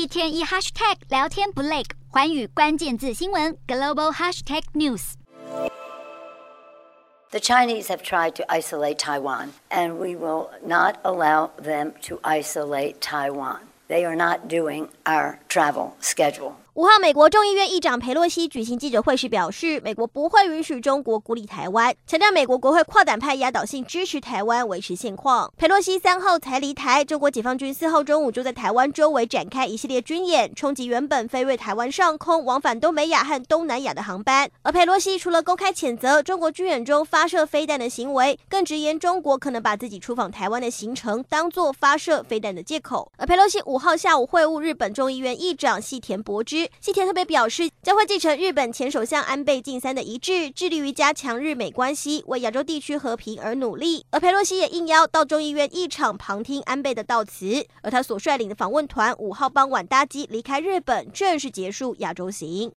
天一 hashtag 聊天不累，寰宇關鍵字新聞 global hashtag news。 The Chinese have tried to isolate Taiwan, and we will not allow them to isolate Taiwan. They are not doing our travel schedule. 5號，美國眾議院議長裴洛西舉行記者會時表示，美國不會允許中國孤立台灣，強調美國國會跨黨派壓倒性支持台灣維持現況。裴洛西3號才離台，中國解放軍4號中午就在台灣周圍展開一系列軍演，衝擊原本飛越台灣上空往返東北亞和東南亞的航班。而裴洛西除了公開譴責中國軍演中發射飛彈的行為，更直言中國可能把自己出訪台灣的行程當作發射飛彈的借口。而裴洛西5號下午會晤日本眾議院議長細田博之。細田特別表示，將會繼承日本前首相安倍晉三的遺志，致力於加強日美關係，為亞洲地區和平而努力。而裴洛西也應邀到眾議院議場旁聽安倍的悼詞，而他所率領的訪問團5號傍晚搭機離開日本，正式結束亞洲行。